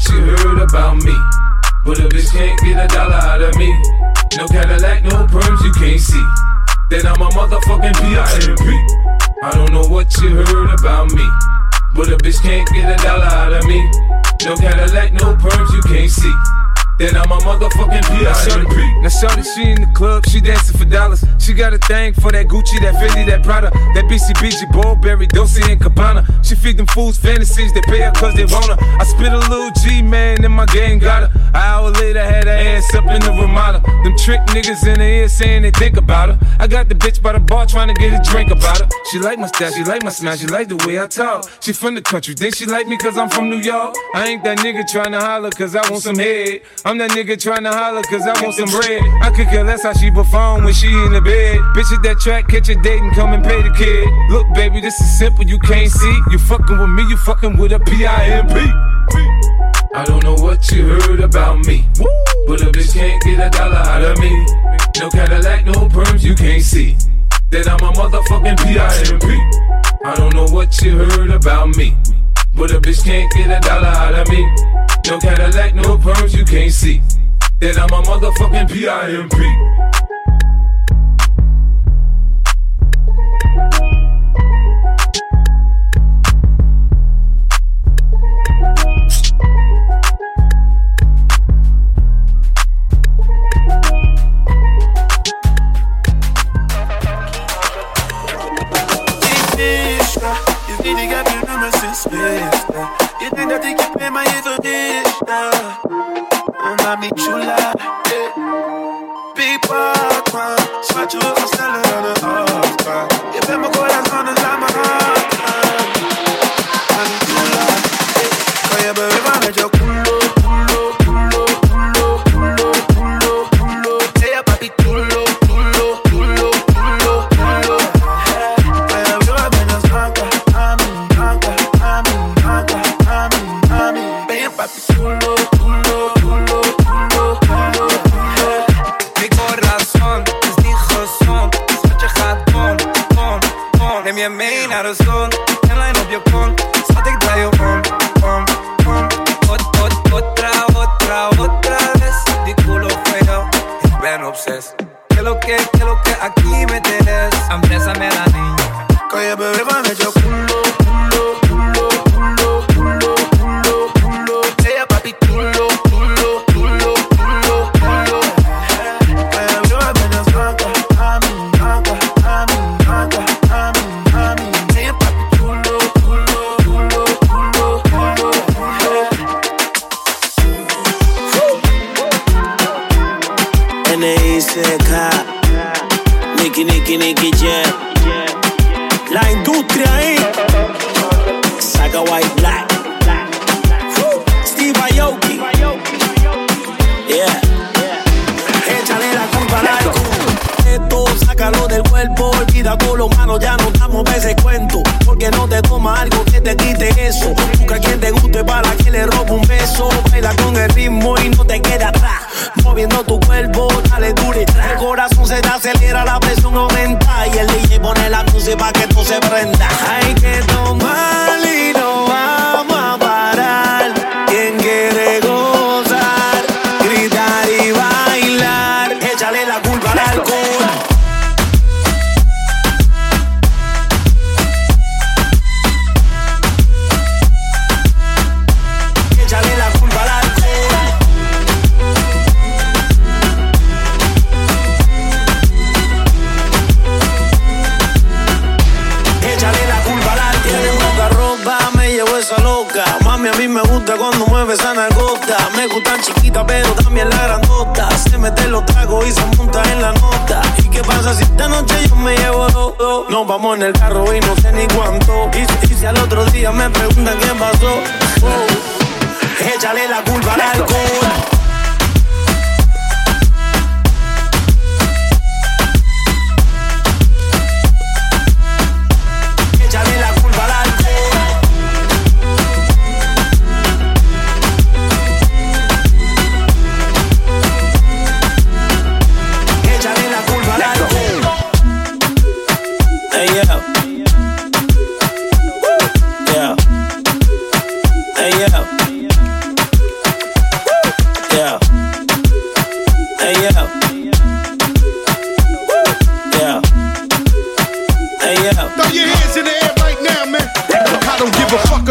you heard about me, but a bitch can't get a dollar out of me. No Cadillac, no perms, you can't see. Then I'm a motherfucking P.I.M.P. I don't know what you heard about me, but a bitch can't get a dollar out of me. No Cadillac, no perms, you can't see. Then I'm a motherfucking P.I.M.P. Now shorty, she in the club, she dancing for dollars. She got a thing for that Gucci, that Fendi, that Prada, that BCBG, Burberry, Dolce & Gabbana. She feed them fools fantasies, they pay her cause they want her. I spit a little G, man, and my gang got her. An hour later, had her ass up in the Ramada. Them trick niggas in the ear saying they think about her. I got the bitch by the bar trying to get a drink about her. She like my style, she like my smile, she like the way I talk. She from the country, think she like me cause I'm from New York. I ain't that nigga trying to holler cause I want some head. I'm that nigga tryna holler cause I want some bread. I could care less how she perform when she in the bed. Bitch at that track, catch a date and come and pay the kid. Look baby, this is simple, you can't see. You fucking with me, you fucking with a P.I.M.P. I don't know what you heard about me, but a bitch can't get a dollar out of me. No Cadillac, no perms, you can't see. That I'm a motherfucking P.I.M.P. I don't know what you heard about me, but a bitch can't get a dollar out of me. No Cadillac, no perms, you can't see. That I'm a motherfucking P.I.M.P. You think that they can pay my mami chula, Big Papa, swatch you up, stellar on the altar. You bet my corazón es la más mami chula, oye bebé, mame yo culo, culo, culo, culo, culo, culo, culo. Ella papi culo, culo, culo, culo, culo. Oye bebé, apenas manca, mami, manca, mami, manca, mami, mami. Ven papi culo, culo, culo. Neem je mee naar de zon en lijn op je kont. Schat, ik draai je om. Otra vez. Die culo fue yo. Ik ben obsessed. Que lo que aquí me tienes. Ambrésame la niña. Oye, bebé, mame yo culo, culo, culo, culo, culo, culo, culo. Ella papi culo, culo, culo, culo, culo. Oye, bebé, apenas manca, mami, manca, mami, manca, mami. Nicky Jam. La industria ahí. Saga White Black. Steve Aoki. Yeah. Échale la culpa al alcohol. Esto, sácalo del cuerpo. Olvida todo lo malo, ya no estamos para ese cuento. Porque no te toma algo que te quite eso. Busca a quien te guste para que le robe un beso. Baila con el ritmo y no te quede atrás. Moviendo tu cuerpo, dale duro y tra. El corazón se te acelera, la presión aumenta. Y el DJ pone la música para que tú se prenda. Hay que tomar y no vamos a parar. Quien quiere gozar, gritar y bailar. Échale la culpa al alcohol. A mí me gusta cuando mueve esa nalgota. Me gustan chiquitas pero también la grandota. Se mete los tragos y se monta en la nota. ¿Y qué pasa si esta noche yo me llevo dos? Nos vamos en el carro y no sé ni cuánto. Y si al otro día me preguntan qué pasó, échale la culpa al alcohol.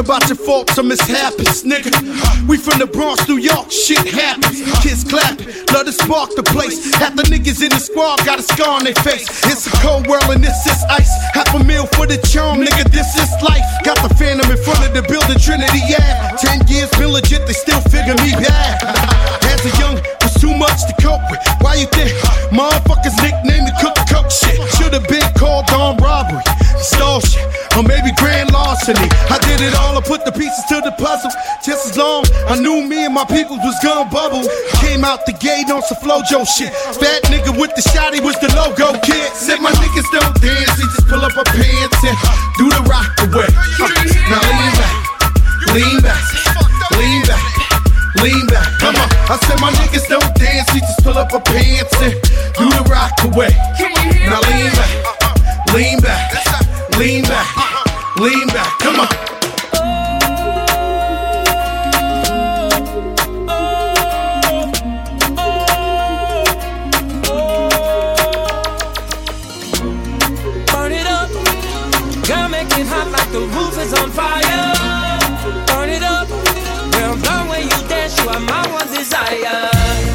about your faults or mishaps, nigga. We from the Bronx, New York, shit happens. Kids clapping, love to spark the place. Half the niggas in the squad got a scar on their face. It's a cold world and this is ice. $500,000 for the charm, nigga, this is life. Got the Phantom in front of the building, Trinity, yeah. 10 years been legit, they still figure me bad. As a young, was too much to cope with. Why you think motherfuckers nickname me Cook Coke shit? Should've been called on robbery, stole shit, or maybe grand larceny. I did it all, I put the pieces to the puzzle. Just as long I knew me and my people was gonna bubble. Came out the gate on some Flojo shit. Fat nigga with the shotty was the logo kid. Said my niggas don't dance, they just pull up our pants and do the rock away. Now lean back, lean back, lean back, lean back. Come on, I said my niggas don't dance, they just pull up our pants and do the rock away. Now lean back, lean back, lean back, lean back. Come on. The roof is on fire. Burn it up. Girl, the way you dance, you are my one desire.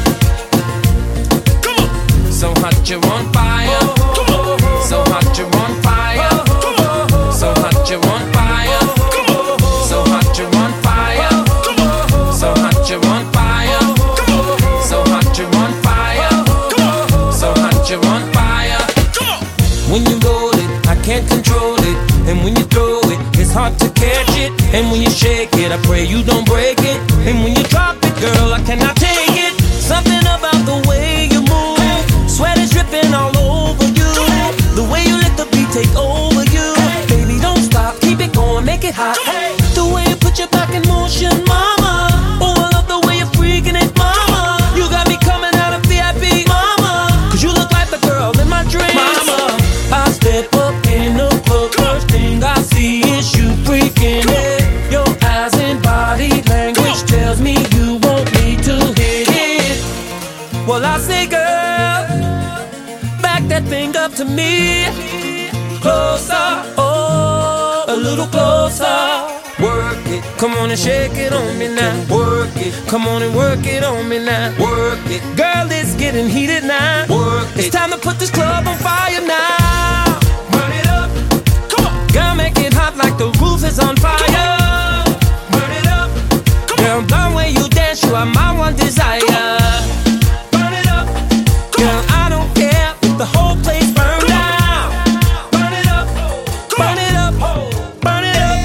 Come on. So hot you're on fire. So hot you're on fire. So hot you're on fire. So hot you're on fire. So hot you're on fire. So hot you're on fire. So hot you're on fire. When you roll it, I can't control it. And when you throw it, it's hard to catch it. And when you shake it, I pray you don't break it. And when you drop it, girl, I cannot take it. Something about the way you move, sweat is dripping all over you. The way you let the beat take over you. Baby, don't stop, keep it going, make it hot. The way you put your back in motion, mama. Oh, I love the way you're freaking it, mama. You got me coming out of VIP, mama. Cause you look like the girl in my dreams, mama. I step up in the club, first thing I see is you freaking it. Your eyes and body language tells me you want me to hit it. Well, I say, girl, back that thing up to me. Closer, oh, a little closer. Work it, come on and shake it on me now. Work it, come on and work it on me now. Work it, girl, it's getting heated now. Work it, it's time to put this club on fire now. Burn it up, come on. Girl, make it hot like the roof is on fire. Burn it up, come on. Girl, the way you dance, you are my one desire. Burn it up, girl, I don't care if the whole place burns down. Burn it up, burn it up, burn it up.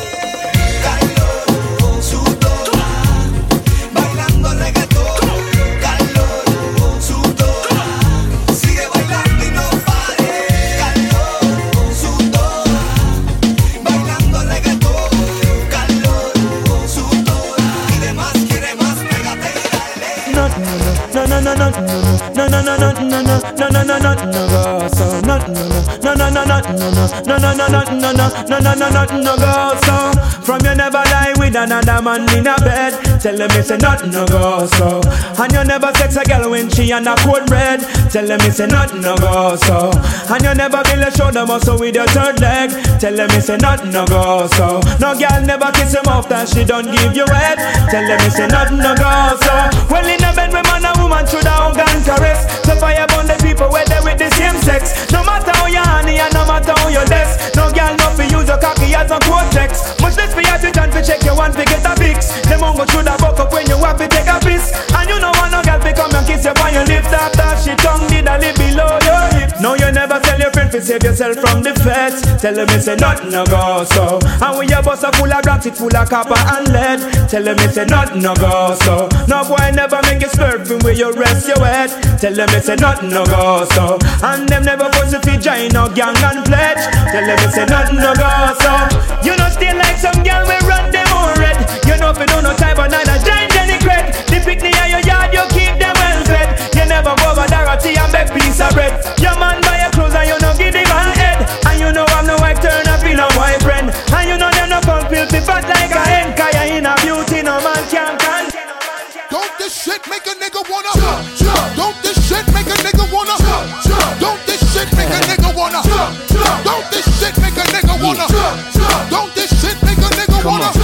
Calor, sudor, bailando reggaetón. Calor, sudor, sigue bailando y no pares. Calor, sudor, bailando reggaetón. Calor, sudor, quiere más, pégate y dale. No go so. From you never lie with another man in a bed. Tell them it's a nothing no go so. And you never sex a girl when she on a cold red. Tell them it's a nothing no go so. And you never build a shoulder muscle with your third leg. Tell them it's a nothing no go so. No girl never kiss him off that she don't give you head. Tell them it's a nothing no go so. Well in a bed with man and woman should have hug and caress. So fire burn the people where they with the same sex. No matter how you honey and no matter how you less. No girl no fi use your cocky as a cortex. Much less for you to turn to check your one to get a fix. Them won't go through the buck up when you have to take a piss. And you know want no girl to come and kiss you on your lips. After she tongue did a lip below your hips. No you never tell your friend to save yourself from the feds. Tell them it's a nothing no go so. And when your bus are full of rocks it full of copper and lead. Tell them it's a nothing no go so. No boy never make you slurping where you rest your head. Tell them it's a nothing no go so. And them never force you to join no gang and pledge. Tell them it's a nothing no go so. You know stay like some girl we run them on red. You know if you don't no time but neither giant any cred. The picnic in your yard you keep them well fed. You never go over Dorothy and beg piece of bread. Your man buy your clothes and you no give him a head. And you know I'm no wife turn up in a boyfriend. And you know them no come filthy fat like a hen. Cause you in a beauty no man can't can. Don't this shit make a nigga wanna Don't this shit make a nigga wanna Don't this shit make a nigga wanna Don't this shit make a nigga wanna Don't this shit make a nigga wanna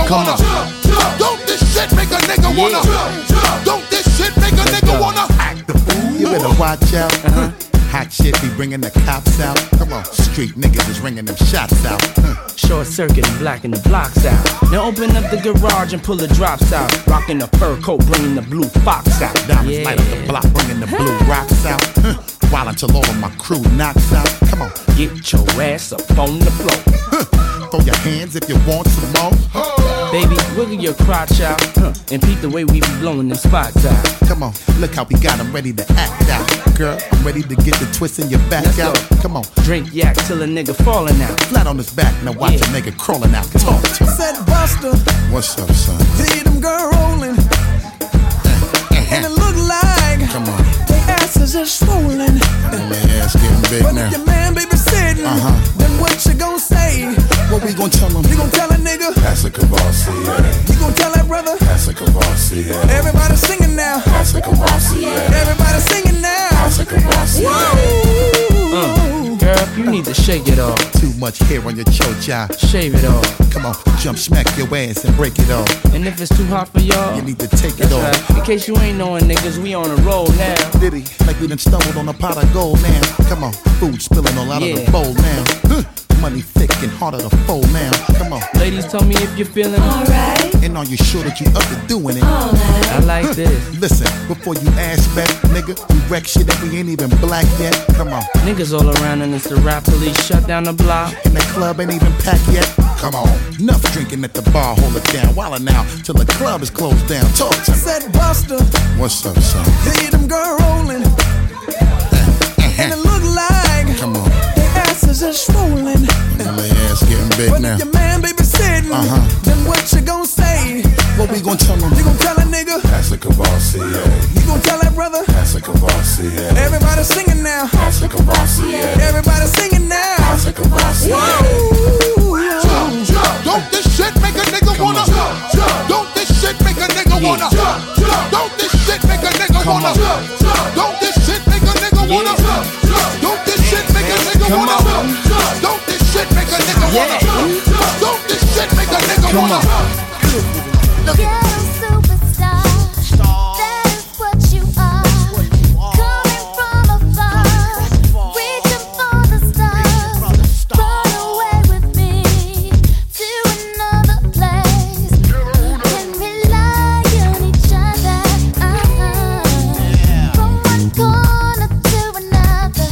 Come on. Don't this shit make a nigga wanna? Don't this shit make a nigga wanna act the fool? You better watch out. Hot shit be bringing the cops out. Come on, street niggas is ringing them shots out. Short circuit and blacking the blocks out. Now open up the garage and pull the drops out. Rocking the fur coat, bringing the blue fox out. Diamonds light up the block, bringing the blue rocks out. While until all of my crew knocks out. Come on, get your ass up on the floor. Throw your hands if you want some more. Baby, wiggle your crotch out, and peep the way we be blowing them spots out. Come on, look how we got them ready to act out. Girl, I'm ready to get the twist in your back Let's out. go. Come on, drink yak till a nigga falling out. Flat on his back, now watch a nigga crawling out. Talk to him. Said Buster, what's up, son? see them girl rolling, and it look like come on, they asses are swollen. and their ass getting big But now. if your man baby sitting, then what you gon' say? What we gon' tell him? You gon' tell a nigga? That's a Cavassier. You gon' tell that brother? That's a Cavassier. Everybody singing now. That's a Cavassier. Everybody singing now. That's a Cavassier. Girl, you need to shake it off. Too much hair on your chocha. Shave it off. Come on, jump, smack your ass and break it off. And if it's too hot for y'all, You need to take it that's off. right. In case you ain't knowing, niggas, we on a roll now. Diddy, like we done stumbled on a pot of gold now. Come on, food spilling all out of the Yeah. bowl now. Money thick and harder to fold now. Come on, Ladies, tell me if you're feeling Alright, and are you sure that you up to doing it? alright. I like this. Listen, before you ask back, nigga, we wreck shit that we ain't even black yet. Come on, Niggas all around and it's the rap police shut down the block. and the club ain't even packed yet. Come on, enough drinking at the bar, hold it down. Wildin' out till the club is closed down. Talk to me. Said Buster, What's up, son? see them girl rolling, and it look like Come on, their asses are swollen. and their ass getting big But now. if your man baby sitting, then what you gon' say? What we gon' tell him? You gon' tell a nigga? That's a Cavassier. You gon' tell that brother? That's a Cavassier. Everybody singing now. That's a Cavassier. Everybody singing now. That's a Cavassier. Don't this shit make a nigga wanna? Don't this shit make a nigga wanna? Don't this shit make a nigga wanna? Don't this shit make a nigga wanna? Don't this shit make a nigga wanna? Don't this shit make a nigga wanna? Don't this shit make a nigga wanna? Ghetto superstar, that is what you are. Coming from afar, reaching for the stars. Run away with me to another place. Can rely on each other. From one corner to another.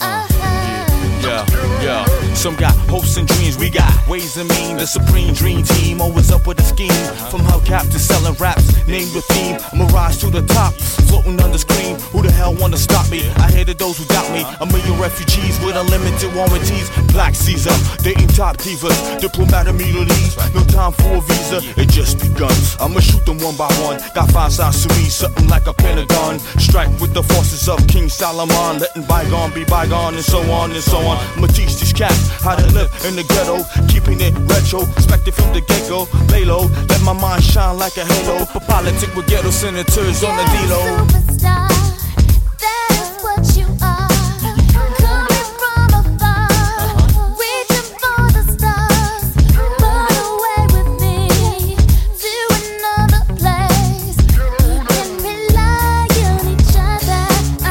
Yeah. Some got hopes and dreams, we got ways and means. The supreme dream team, always up with a scheme. From hubcap to selling raps, name the theme. I'ma rise to the top, floating on the screen. Who the hell wanna stop me? I hated those who doubt me. A million refugees with unlimited warranties. Black Caesar, dating top divas, diplomat immunities. No time for a visa, it just begun. I'ma shoot them one by one. Got 5 sides to me, something like a pentagon. Strike with the forces of King Solomon, letting bygone be bygone, and so on and so on. I'ma teach these cats how to live in the ghetto, keeping it retro, expected from the get-go. Lay low, let my mind shine like a halo. For politic with ghetto senators on the D-Lo. Superstar, that is what you are. Coming from afar, reaching for the stars. Run away with me to another place. Can rely on each other.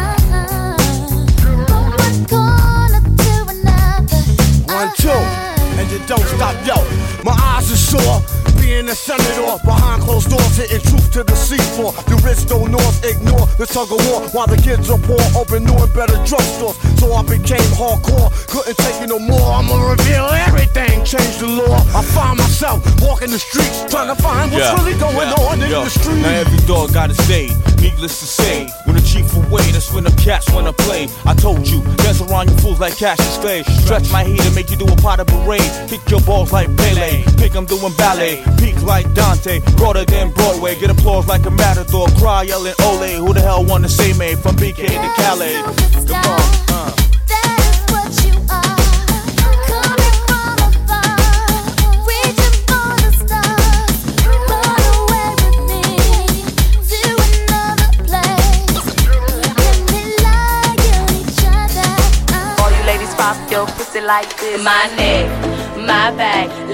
From one corner to another. 1, 2, and you don't stop, yo. My eyes are sore, being a senator behind closed doors, hitting truth to the seafloor. The rich don't north ignore the tug of war, while the kids are poor, open new and better drugstores. So I became hardcore, couldn't take it no more. I'ma reveal everything, change the law. I find myself walking the streets, trying to find what's really going on in the streets. Now every dog got his day, needless to say. When the chief away, that's when the cats wanna play. I told you, dance around you fools like Cassius Clay. Stretch my heat and make you do a pot of parade. Kick your balls like Pele, pick 'em doing ballet. Peak like Dante, broader than Broadway. Get applause like a matador, cry yelling ole. Who the hell wanna say me from BK to Calais? Come on, That is what you are. Coming from afar, reaching for the stars. Run away with me to another place. Can rely on each other. All you ladies pop your pussy like this. My neck, my back,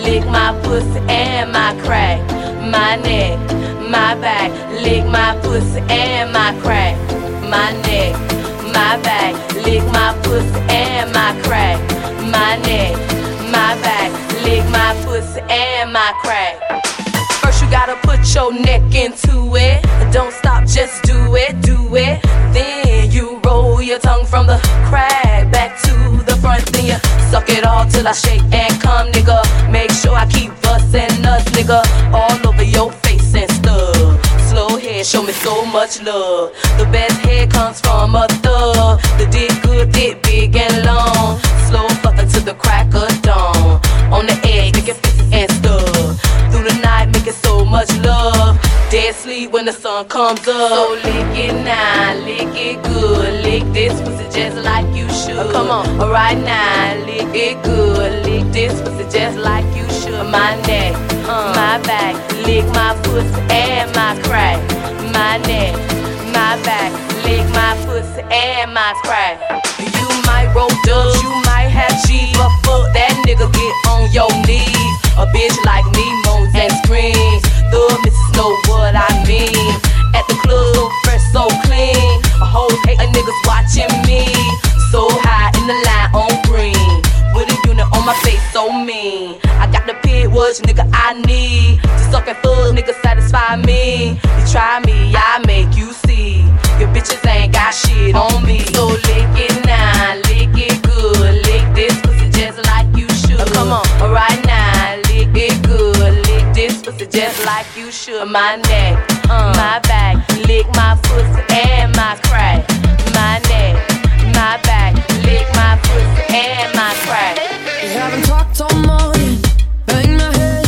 lick my pussy and my crack, my neck, my back, lick my pussy and my crack, my neck, my back, lick my pussy and my crack, my neck, my back, lick my pussy and my crack. First you gotta put your neck into it. Don't stop, just do it, do it. Then you roll your tongue from the crack back to the front. Then you suck it all till I shake and come, nigga. Make sure I keep bustin' nuts, nigga, all over your face and stuff. Slow head, show me so much love. The best head comes from a thug. The dick good, dick big and long. Slow fuckin' to the crack of dawn. On the edge, make it and stuff. Through the night, making so much love. Dead sleep when the sun comes up. So lick it now, lick it good. Lick this pussy just like you should. Come on, alright now, lick it good. Lick this pussy just like you should. My neck, my back, lick my pussy and my crack. My neck, my back, lick my pussy and my crack. You might roll dubs, you might have cheese, but fuck that nigga, get on your knees. A bitch like me moans and screams. The missus know what I mean. At the club, so fresh, so clean. A whole hate of niggas watching me. So high in the line on green. With a unit on my face, so mean. I got the pit, which nigga I need. To suck and fuck, nigga satisfy me. You try me, I make you see. Your bitches ain't got shit on me. So lick it now, lick it good. Lick this pussy just like you should. Come on, alright now, lick it good. Lick this pussy just like you should. My neck, my back, lick my pussy and my crack. My neck, my back, lick my pussy and my crack. We haven't talked all morning. Bang my head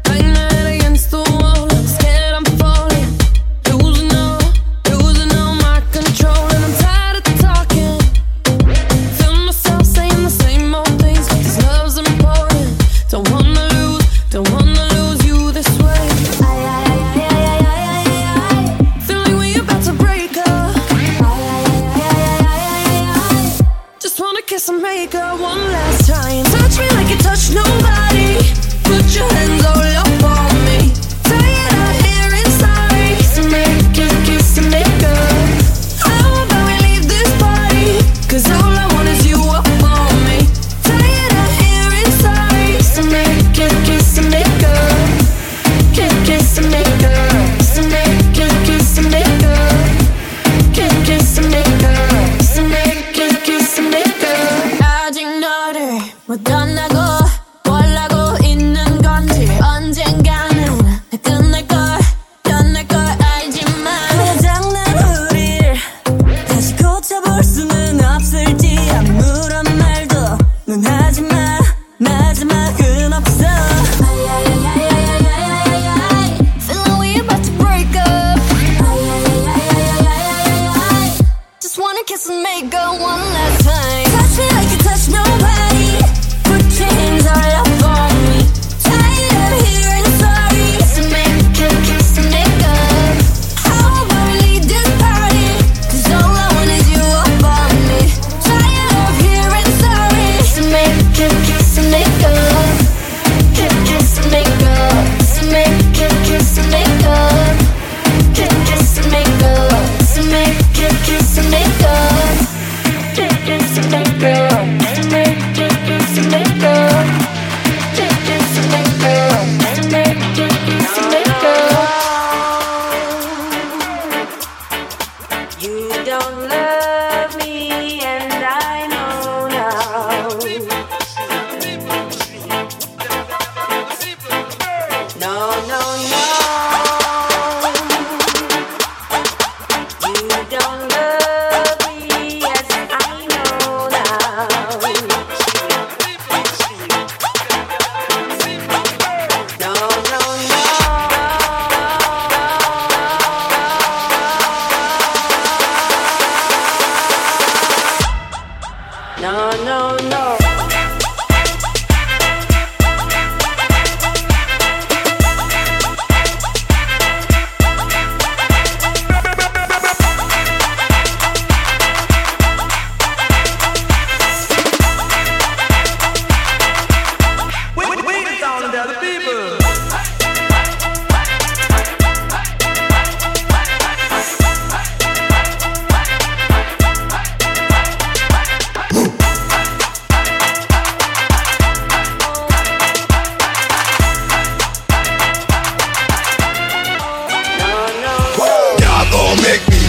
against the wall. I'm scared I'm falling, losing all my control, and I'm tired of talking. Feel myself saying the same old things, 'cause love's important. Don't wanna lose you this way. Feel like we about to break up. Just wanna kiss and make up one last time.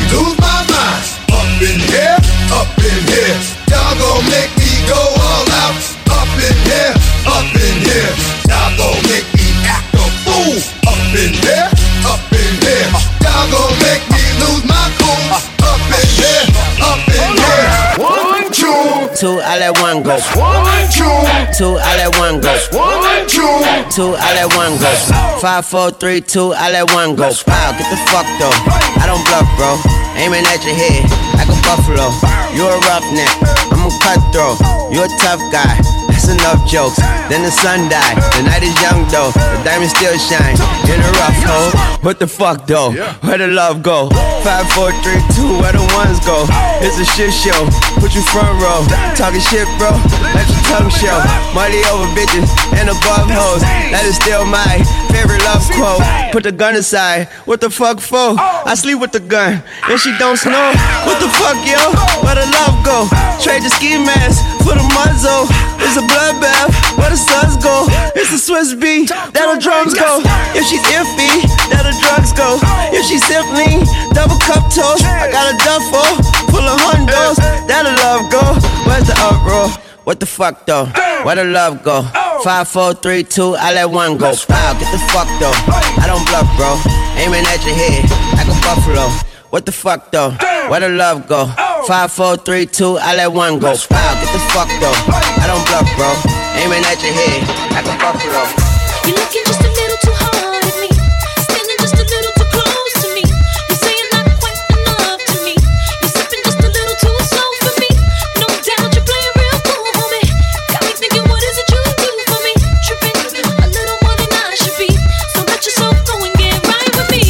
lose my mind. Up in here, up in here. Y'all gon' make me go all out. Up in here, up in here. Y'all gon' make me act a fool. Up in here, up in here. Y'all gon' make me lose my cool. Up in here, up in here. 1, 2, 2, I let one go. 1, 2, 2, I let one go. 1, 2, 2, I let one go. 5, 4, 3, 2, I let one go. Wow, get the fuck though. I don't bluff, bro. Aiming at your head like a buffalo. You a roughneck, I'm a cutthroat. You a tough guy. That's enough jokes. Then the sun died. The night is young though. The diamond still shine. In a rough hole. What the fuck though? Where the love go? 5, 4, 3, 2. Where the ones go? It's a shit show. Put you front row. Talking shit, bro. Let your tongue show. Money over bitches and above hoes. That is still my favorite love quote. Put the gun aside. What the fuck for? I sleep with the gun and she don't snow. What the fuck, yo? Where the love go? Trade the ski mask for the muzzle. It's a bloodbath. Where the suns go? It's the Swiss beat. That the drums go. If she's iffy, that the drugs go. If she's simply double cup toast, I got a duffel full of hundos. That the love go. Where's the uproar? What the fuck though? Where the love go? 5, 4, 3, 2, I let one go. Wow, get the fuck though. I don't bluff, bro. Aiming at your head like a buffalo. What the fuck though? Where the love go? 5, 4, 3, 2, I let one go. Wow, get the fuck though. I don't bluff, bro. Aiming at your head like a buffalo. You're looking just a little too hard at me, standing just a little too close to me. You're saying not quite enough to me. You're sipping just a little too slow for me. No doubt you're playing real cool, homie. Got me thinking, what is it you do for me? Tripping a little more than I should be. So let yourself go and get right with me.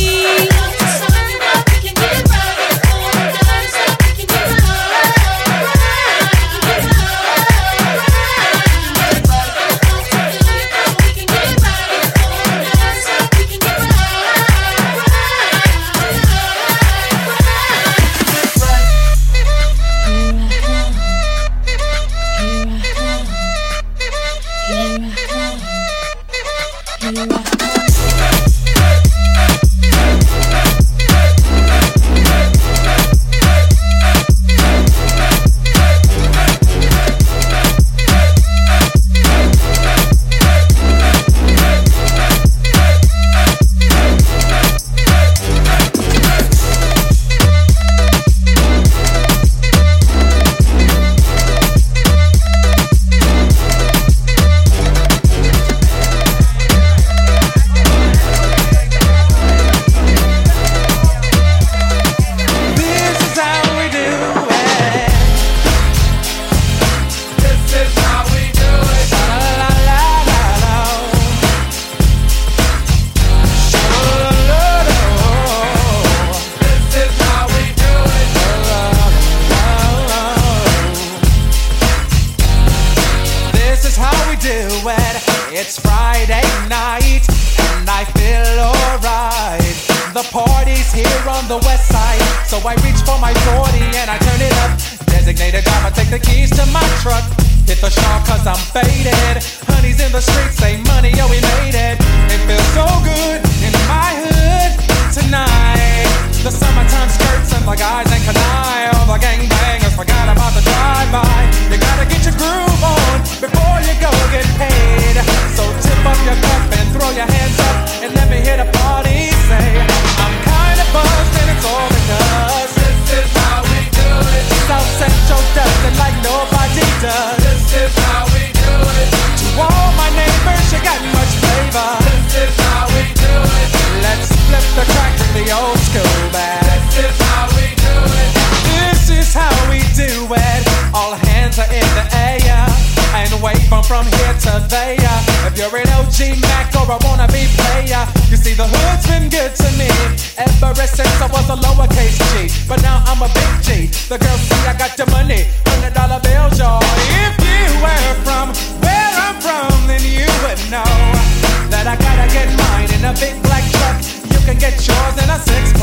It's Friday night and I feel alright. The party's here on the west side, so I reach for my 40 and I turn it up. Designated driver, take the keys to my truck. Hit the shawl cause I'm faded. Honey's in the streets, say money, yo, we made it. It feels so good in my hood tonight. The summertime skirts and the guys ain't canine. All the gangbangers forgot about the drive-by. You gotta get your groove on before you go get paid. So tip up your cup and throw your hands up and let me hear the party say, I'm kinda buzzed and it's all because this is how we do it. South Central does it like nobody does. This is how we do it. To all my neighbors, you got much flavor. This is how we do it. Let's flip the crack to the old school back. This is how we do it. This is how we do it. All hands are in the air and wave from here to there. If you're an OG Mac or a wannabe player, you see the hood's been good to me ever since I was a lowercase G. But now I'm a big G. The girls see I got the money, $100 bills, y'all. If you were from where I'm from, then you would know that I gotta get mine in a big black truck. You can get yours in a 6-4.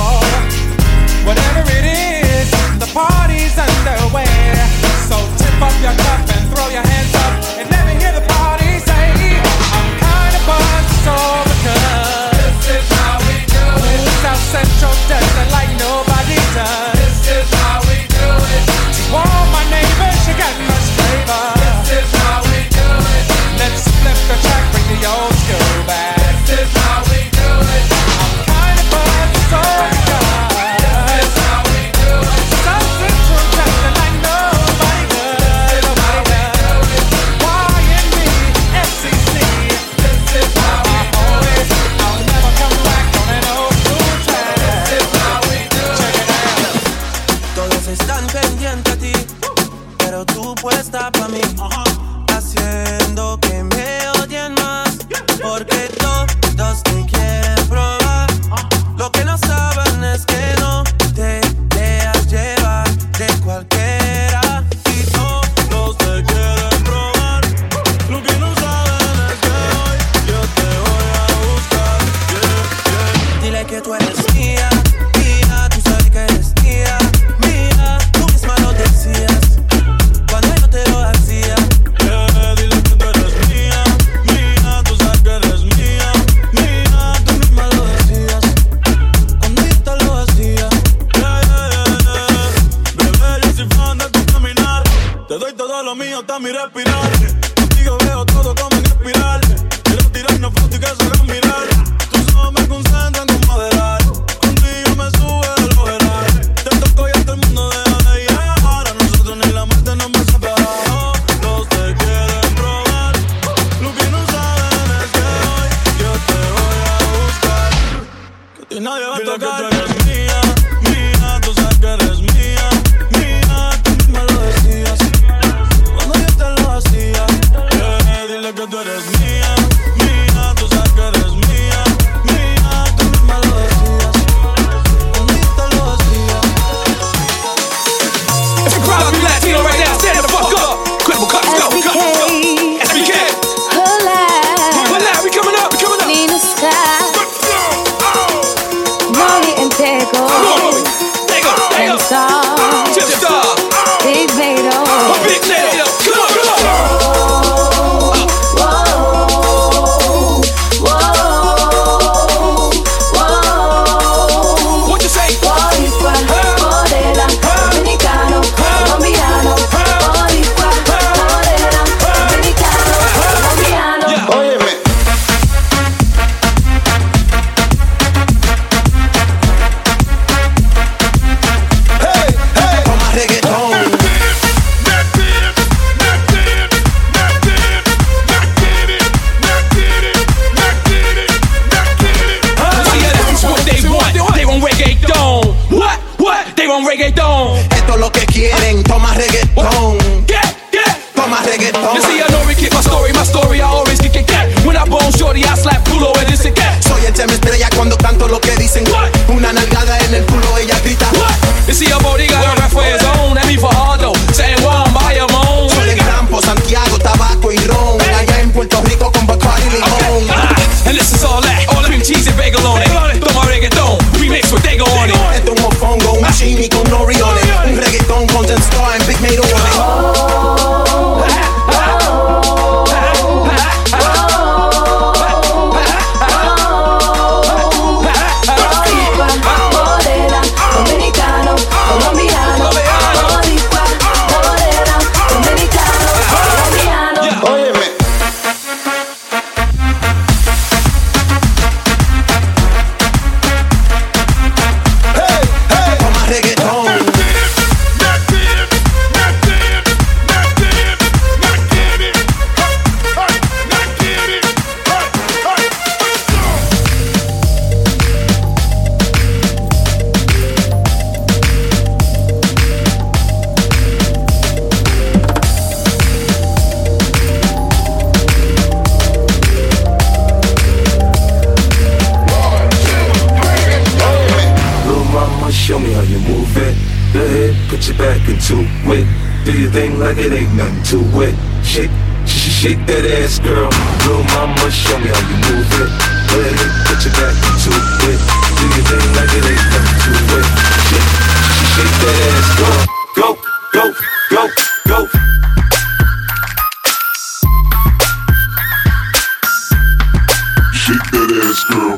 Whatever it is, the party's underway. So tip up your cup and throw your hands up and let me hear the party say, I'm kinda buzzed, it's all because this is how we do it. South Central does it like nobody does. mío está mi respirar. Contigo veo todo como en espiral. Quiero tirarnos fotos y que se hagan mirar. Tus ojos me concentran con moderar. Contigo me sube de lo general. Te toco y a todo el mundo deja de llegar. A nosotros ni la muerte nos va a separar. Los te quieren probar. Lo que no saben es que hoy yo te voy a buscar. Que a ti nadie va a tocar. Que tú eres mía, mía. Tú sabes que eres mía, mía. Tú misma lo decías cuando yo te lo hacía. Dile que tú eres mía, mía. Tú sabes que eres mía, mía. Tú misma lo decías cuando yo te lo hacía. If you're proud of me Latino right now, stand the fuck up. Credible cuts, go, go, go. SBK. Hola, we coming up, we coming up. Nina Sky, Molly and Tego, and Star, Tip Star, Big Nato, Big Nato. Come on, come on. What you say? Boricua, Morena, Dominicano, Colombiano, Boricua, Morena, Dominicano, Colombiano. Óyeme. Hey, hey. Toma reggaetón. They want reggaeton. Esto es lo que quieren. Toma reggaetón. Toma reggaetón. You see, I know we keep my story, I always kick it. When I bone shorty, I slap culo and this again. Soy el tema estrella cuando canto lo que dicen. Una nalgada en el culo, ella grita. You see, a body got a rap for his own. That me for Hardo, saying one by your own. Soy del campo, Santiago, tabaco y ron. Allá en Puerto Rico con Bacardi y limón. And this is all that, all the cream cheese and bagel on it. Toma reggaeton, remix with Dago on it. Esto es un mofongo, un chimi con nori on it. Un reggaetón con Zen Star and Big Nato on it. Morena, Dominicano, Colombiano, Boricua, Morena, Dominicano, Colombiano. Óyeme. Hey, hey. Toma reggaetón. Little mama, show me how you move it. Go ahead, put your back into it. Do your thing like it ain't nothing to it. Shake, shake that ass, girl. Little mama, show me how you move it. Go ahead, put your back into it. Do your thing like it ain't nothing to it. Shake that ass, girl. Go, go, go, go. Shake that ass, girl.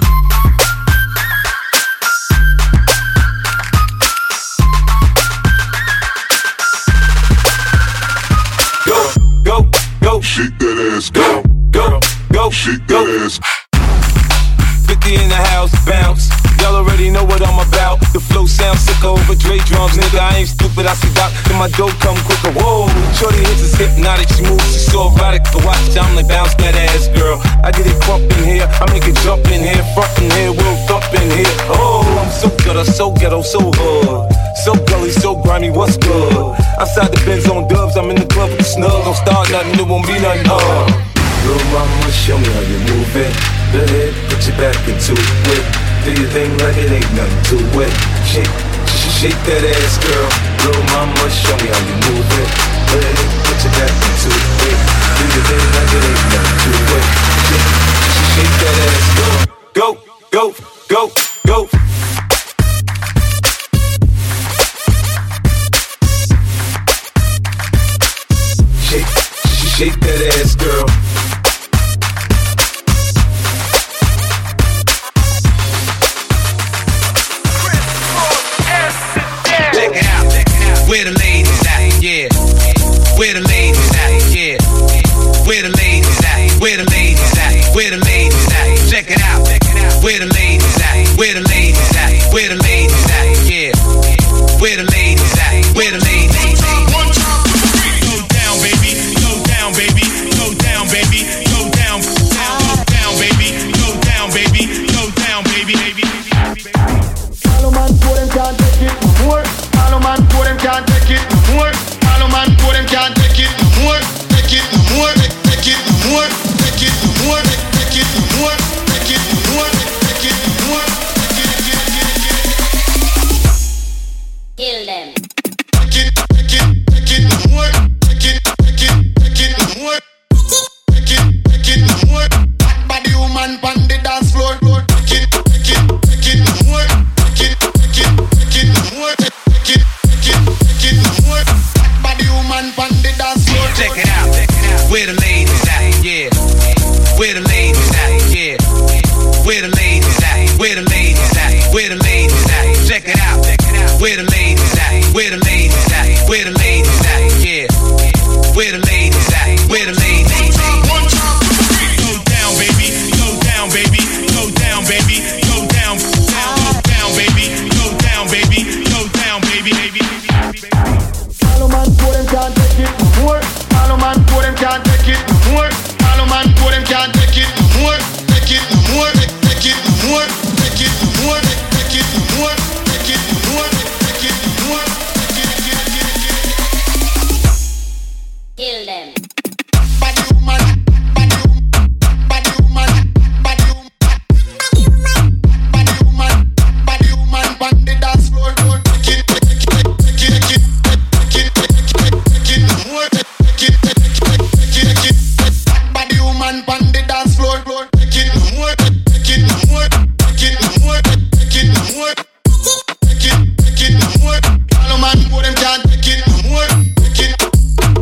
Shake that ass, go, go, go, shake that ass. 50 in the house, bounce. Y'all already know what I'm about. The flow sounds sicker over Dre drums, nigga. I ain't stupid, I see Doc, then my dough come quicker. Whoa, shorty hits is hypnotic, she moves, she's so erotic. To watch, I'm like bounce that ass, girl. I get it crump in here, I make it jump in here, front in here, we'll thump in here. Oh, I'm so gutter, so ghetto, so hood. So gully, so grimy, what's good? Outside the Benz on dubs, I'm in the club with the snug. Don't start nothing, it won't be nothing. Little mama, show me how you move it. Go ahead, put your back into it. Do your thing like it ain't nothing to it. Shake, shake that ass, girl. Little mama, show me how you move it. Go ahead, put your back into it. Do your thing like it ain't nothing to it. Shake, shake that ass, girl. Go, go, go, go. Shake that ass, girl. Check it out. Where the ladies at? Yeah. Where the ladies at? can't take it no more. All the man for them can't take it no more. All the man for them can't take it no more. Take it no more. Take it no more. Take it no more. Take it no more. Take it no more. Take it no more. Kill them. Take it no more. Take it no more. Take it no more. Body woman pon the dance floor. Take it no more. Take it no more. Take it no more. Body woman pon the dance floor. Check it out. Where the ladies at? Yeah. Where the ladies at? Yeah. Where the ladies at? Where the ladies at? Where the ladies at? Check it out. Where the ladies at? Where the ladies at? Where the ladies at? Yeah. Where the ladies at? Where the ladies at? Go down, baby. Go down, baby. Go down, baby. Go down, baby. Go down, baby. Go down, baby. All the man for them can't take it no more. All the man for them can't take it no more. All the man for them can't take it no more. Take it no more. Take it no more. Take it no more. Take it no more. Take it no more. Take it no more. Kill them. Body woman. Body woman. Body woman pon the dance floor. Take it no more. Body woman pon the dance floor. Take it no more. Take it no more. Take it no more. Take it no more. Take it no more. All the man for them can't take it no more. Take it no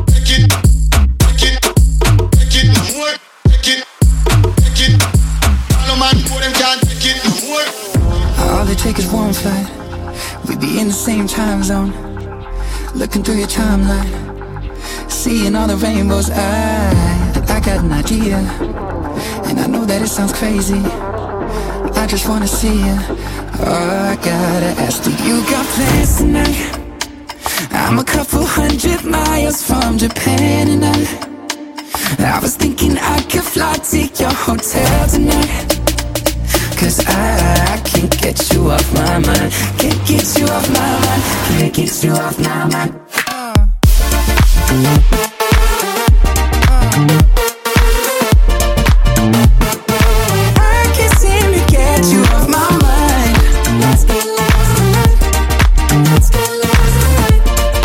more. Take it. All the man for them can't take it no more. All they take is one flight. We be in the same time zone. Looking through your timeline, seeing all the rainbows. I got an idea, and I know that it sounds crazy. I just wanna see you. Oh, I gotta ask, do you got plans tonight? I'm a couple 100 miles from Japan, and I was thinking I could fly to your hotel tonight. Cause I can't get you off my mind. Can't get you off my mind. Can't get you off my mind. I can't seem to get you off my mind. Let's get lost tonight. Let's get lost tonight.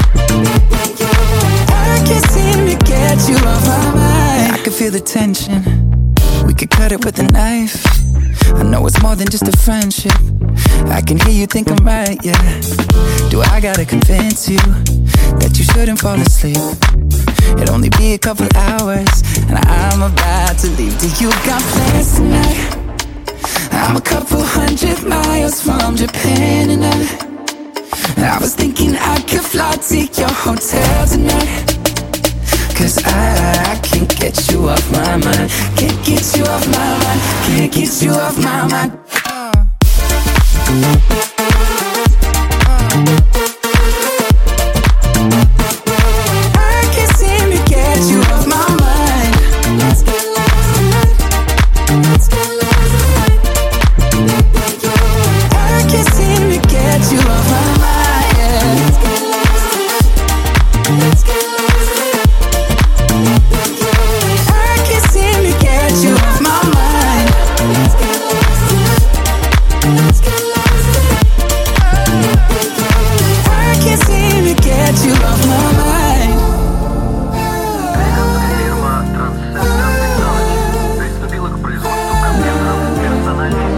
I can't seem to get you off my mind. I can feel the tension. We could cut it with a knife. I know it's more than just a friendship. I can hear you think I'm right, yeah. Do I gotta convince you that you shouldn't fall asleep? It'll only be a couple hours, and I'm about to leave. Do you got plans tonight? I'm a couple 100 miles from Japan, and I was thinking I could fly to your hotel tonight. Cause I can't get you off my mind. Can't get you off my mind. Can't get you off my mind. I can't seem to get you off my mind. Let's get lost tonight. Let's get lost tonight. I can't seem to get you off my mind. Let's get lost tonight. Let's get lost tonight. I can't seem to get you off my mind. Let's get lost tonight. Let's get lost tonight. I can't seem to get you off my mind. Приступила к производству компьютеров персональной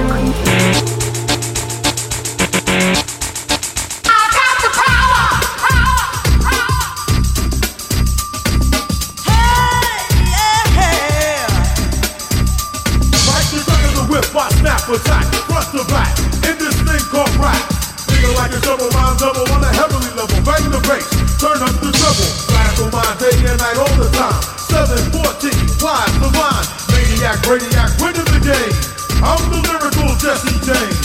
attack, front to back, in this thing called rap. Feel like a double rhyme double on a heavenly level. Bang the bass, turn up the treble. Blast on my day and night all the time. 714, flies the line. Maniac, radiac, winning the game. I'm the lyrical Jesse James.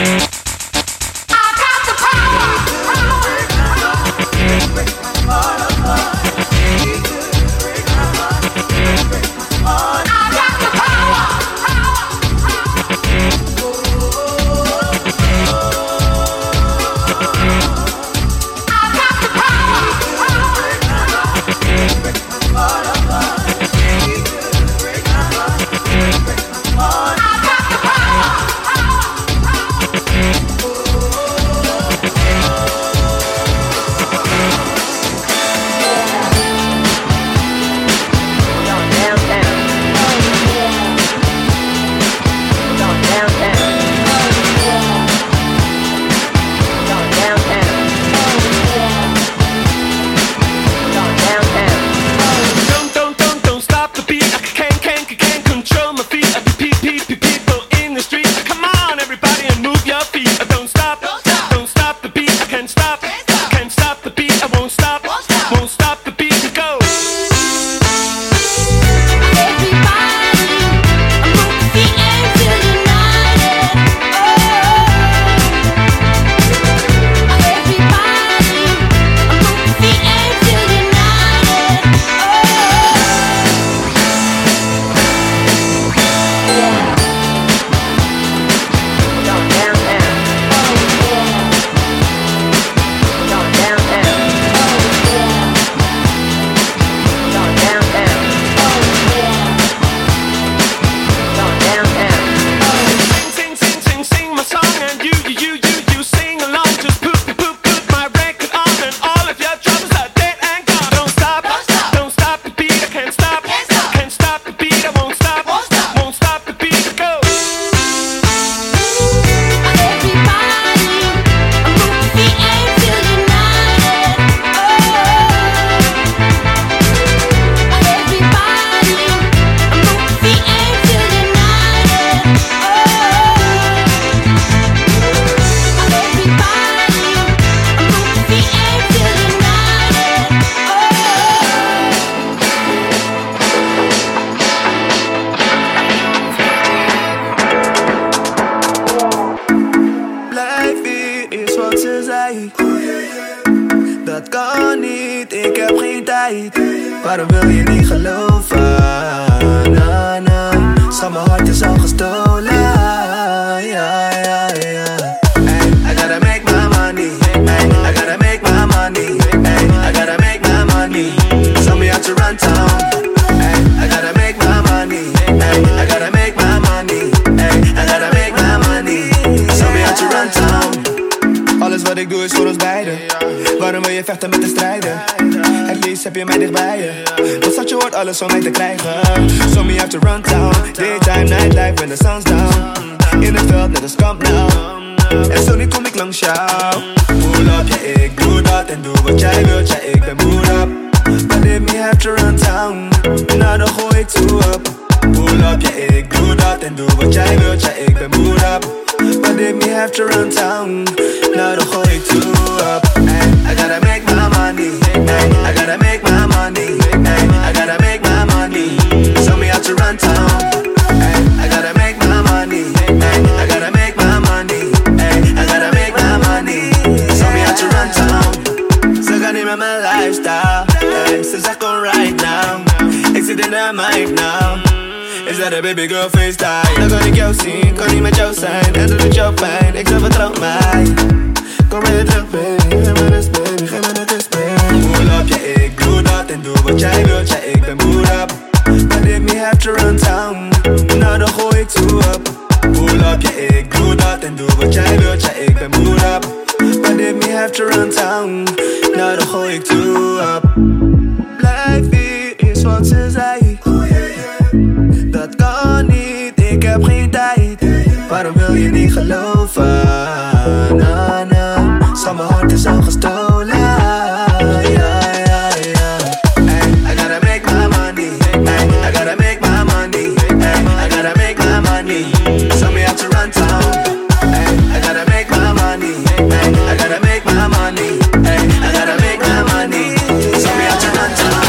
Waarom wil je niet geloven? Na, na. Schat, mijn hart is al gestolen. Ja, ja, ja. Hey, I gotta make my money. Hey, I gotta make my money. Hey, I gotta make my money. Show me how to run town. Hey, I gotta make my money. Hey, I gotta make my money. Hey, I gotta make my money. Show me how to run town. Alles wat ik doe is voor ons beiden. Waarom wil je vechten met de strijder? Het liefst heb je mij dichtbij je. Wat zat je hoort alles om mij te krijgen. So me have to run town. Daytime, nightlife when the sun's down. In het veld net als kamp nou. En zo niet kom ik langs jou. Pull up, ja ik doe dat. En doe wat jij wilt, ja ik ben mood up. But if me have to run town. Nou dan gooi ik toe up. Pull up, ja ik doe dat. En doe wat jij wilt, ja ik ben mood up. But if me have to run town. Nou dan gooi ik toe up. Hey, I gotta make my money. Hey, I gotta make my money. Hey, I gotta make my money. Show me how to run town. Hey, I gotta make my money. Hey, I gotta make my money. Hey, I gotta make my money. Show me how to run town. Ze gaan niet met mijn lifestyle. Hey, ze zegt kom right now. Ik zit in de mic now. Is dat een baby girl FaceTime? Dan kan ik jou zien, kan niet met jou zijn. En doet het jou pijn, ik zeg vertrouw mij. Kom weer terug baby, geef me rust baby, geef me de kus baby. Pull up, ja ik doe dat en doe wat jij wilt, ja ik ben mood up. But if me have to run town, nou dan gooi ik toe up. Pull up, ja ik doe dat en doe wat jij wilt, ja ik ben mood up. But if me have to run town, nou dan gooi ik toe up. Blijf hier, is wat ze zei. Dat kan niet, ik heb geen tijd. Waarom wil je niet geloven? Na, na. Schat, mijn hart is al gestolen. Ja, ja, ja. Hey, I gotta make my money. Hey, I gotta make my money. Hey, I gotta make my money. Show me how to run town. Hey, I gotta make my money. Hey, I gotta make my money. Hey, I gotta make my money. Show me how to run town.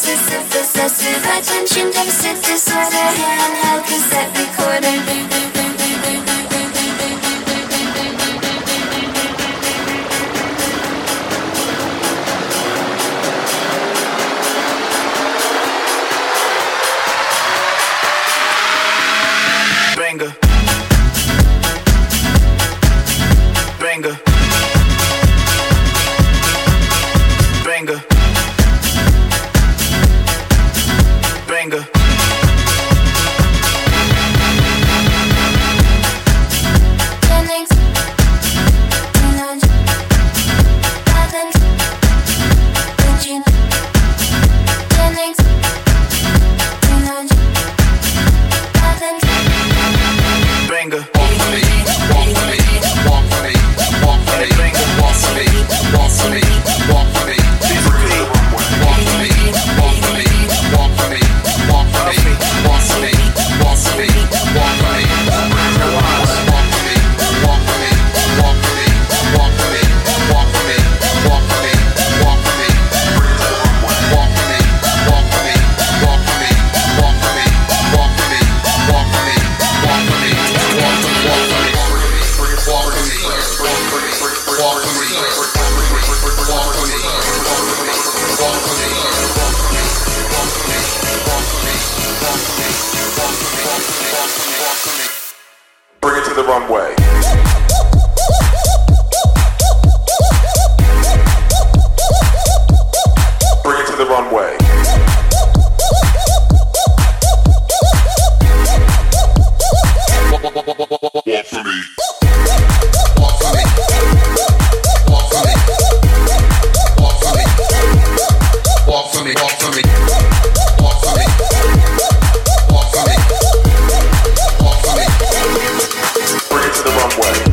possessive attention deficit disorder, handheld cassette recorder. Banger. Banger. Banger. Banger. Jennings, Teenage, Athens, Virgin, Jennings, Teenage, Athens. Banger. Walk for me, walk for me, walk for me, walk for me, walk for me, walk for me, walk for me, walk for me, walk for me, walk for me, walk for me, walk for me, walk for me, walk for me, Bring it to the runway. Bring it to the runway. Walk for me. Walk for me. Walk for me. Walk for me. Walk for me. Walk for me. Walk for me. Walk for me. Walk for me. Bring it to the runway.